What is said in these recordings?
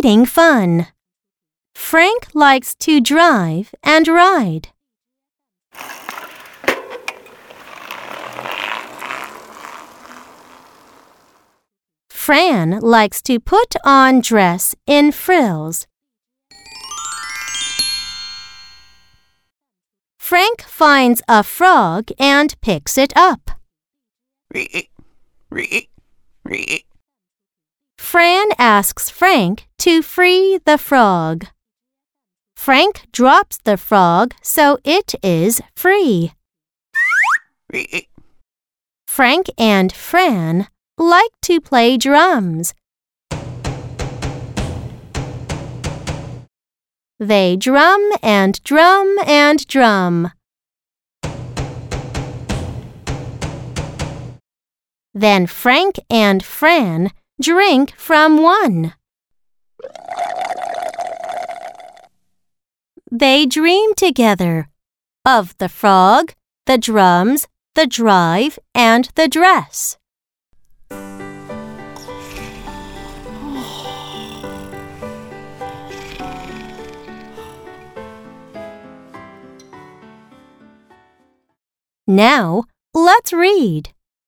exciting fun. Frank likes to drive and ride. Fran likes to put on dress in frills. Frank finds a frog and picks it up. Fran asks Frank to free the frog. Frank drops the frog so it is free. Frank and Fran like to play drums. They drum and drum and drum. Then Frank and Fran drink from one. They dream together of the frog, the drums, the drive, and the dress. Now, let's read.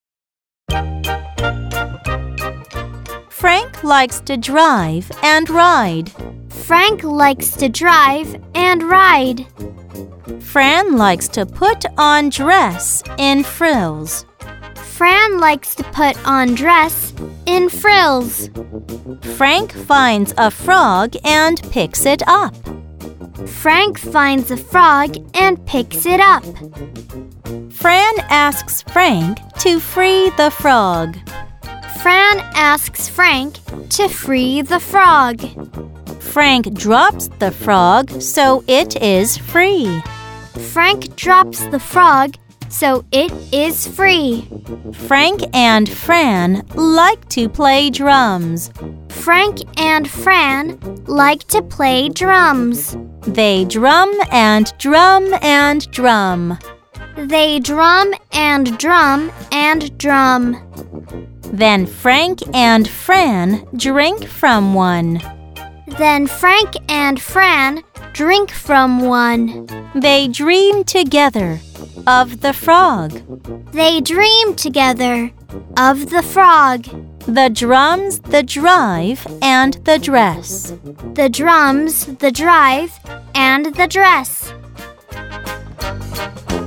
Frank likes to drive and ride. Frank likes to drive and ride. Fran likes to put on dress in frills. Fran likes to put on dress in frills. Frank finds a frog and picks it up. Frank finds a frog and picks it up. Fran asks Frank to free the frog. Fran asks Frank to free the frog. Frank drops the frog so it is free. Frank drops the frog so it is free. Frank and Fran like to play drums. Frank and Fran like to play drums. They drum and drum and drum. They drum and drum and drum. Then Frank and Fran drink from one. Then Frank and Fran drink from one. They dream together of the frog. They dream together of the frog. The drums, the drive, and the dress. The drums, the drive, and the dress.